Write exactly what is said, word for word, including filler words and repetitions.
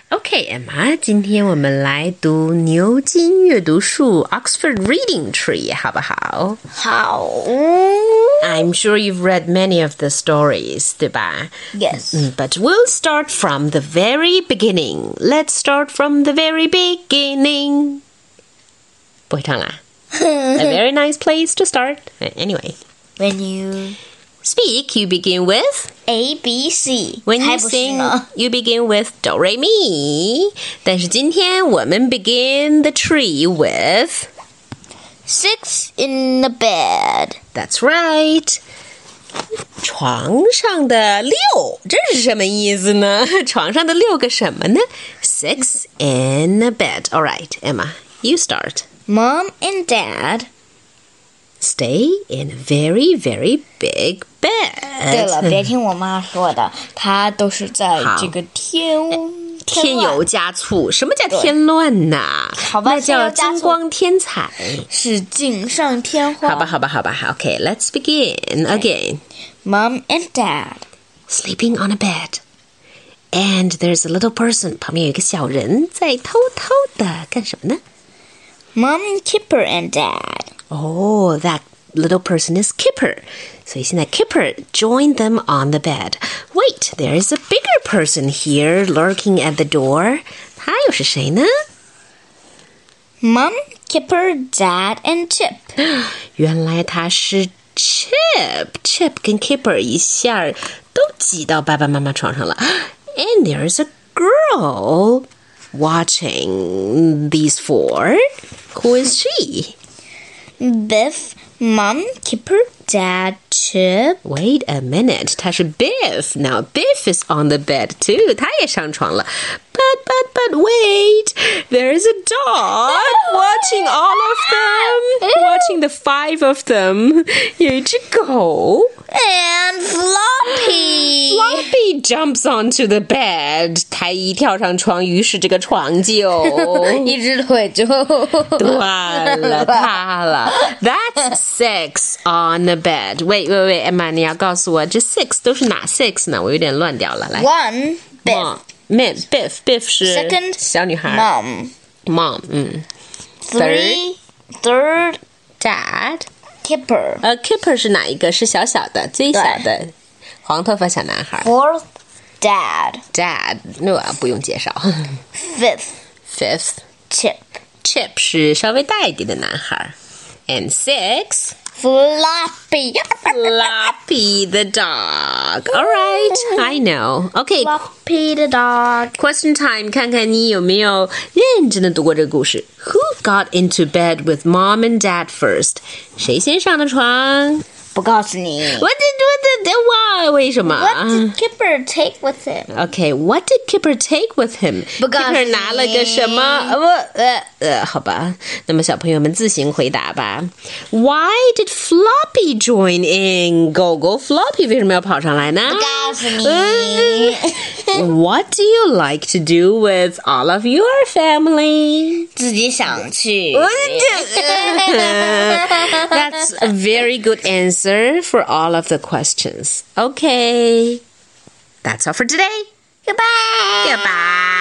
Okay, Emma, 今天我们来读牛津阅读树 Oxford Reading Tree 好不好？ 好。 I'm sure you've read many of the stories, 对吧？ Yes. But we'll start from the very beginning. Let's start from the very beginning. 不会唱啦。A very nice place to start. Anyway. When you speak, you begin with A, B, C. When you 还不是 sing, 呢 you begin with do, re, mi. 但是今天我们 begin the tree with Six in the bed. That's right. 床上的六，这是什么意思呢？床上的六个什么呢？ Six in a bed. All right, Emma, you start. Mom and Dad. Stay in a very, very big bed. 对了，别听我妈说的，她都是在这个天添油加醋。什么叫添乱呐？ 好吧， 那叫金光添彩， 是锦上添花。 好吧，好吧，好吧，好。Okay, let's begin again. Mom and Dad sleeping on a bed, and there's a little person. 旁边有一个小人在偷偷的干什么呢？ Mom, Kipper and Dad. Oh, that little person is Kipper. 所以现在 Kipper joined them on the bed. Wait, there is a bigger person here lurking at the door. 他又是谁呢？ Mom, Kipper, Dad, and Chip. 原来他是 Chip. Chip 跟 Kipper 一下都挤到爸爸妈妈床上了。And there is a girl watching these four. Who is she? Biff, Mom, Kipper, Dad, Chip. Wait a minute. 他是 Biff. Now Biff is on the bed too. 他也上床了。But, but, but wait. There is a dog watching all of them. Watching the five of them. 有一只狗。 And Floppy. Floppy jumps onto the bed. 他一跳上床，于是这个床就一只腿就断了，塌了。That's six on the bed. Wait, wait, wait, Emma, 你要告诉我这 six 都是哪 six 呢？我有点乱掉了。来 One, Biff. Mom, Biff, Biff 是 Second, 小女孩。 Mom. Mom, 嗯。 Three, third, Dad. Kipper. 呃 Kipper 是哪一个？是小小的，最小的，黄头发小男孩。 Fourth, Dad. Dad, 那不用介绍。 Fifth, Fifth, Chip. Chip 是稍微大一点的男孩。And six, Floppy. Floppy the dog. All right, I know. Okay, Floppy the dog. question time. 看看你有没有认真的读过这个故事。Who got into bed with mom and dad first? 谁先上的床？ 不告诉你。 What did what did why 为什么 What did Kipper take with him? Okay, what did Kipper take with him? 不告诉你 Kipper 拿了个什么？呃呃呃，好吧。那么小朋友们自行回答吧。Why did Floppy join in? Go go Floppy 为什么要跑上来呢？ 不告诉你。 What do you like to do with all of your family? 自己想去。 That's a very good answer for all of the questions. Okay. That's all for today. Goodbye. Goodbye.